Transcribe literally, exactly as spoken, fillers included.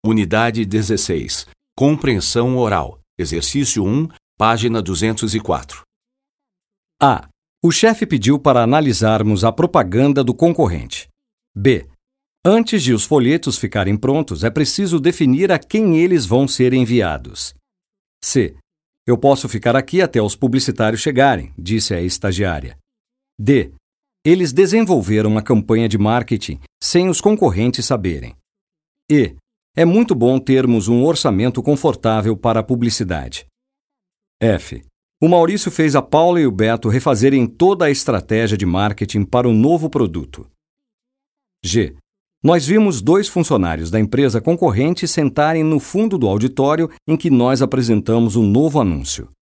Unidade dezesseis. Compreensão oral. Exercício um, página duzentos e quatro. A. O chefe pediu para analisarmos a propaganda do concorrente. B. Antes de os folhetos ficarem prontos, é preciso definir a quem eles vão ser enviados. C. Eu posso ficar aqui até os publicitários chegarem, disse a estagiária. D. Eles desenvolveram uma campanha de marketing sem os concorrentes saberem. E. É muito bom termos um orçamento confortável para a publicidade. F. O Maurício fez a Paula e o Beto refazerem toda a estratégia de marketing para o novo produto. G. Nós vimos dois funcionários da empresa concorrente sentarem no fundo do auditório em que nós apresentamos o novo anúncio.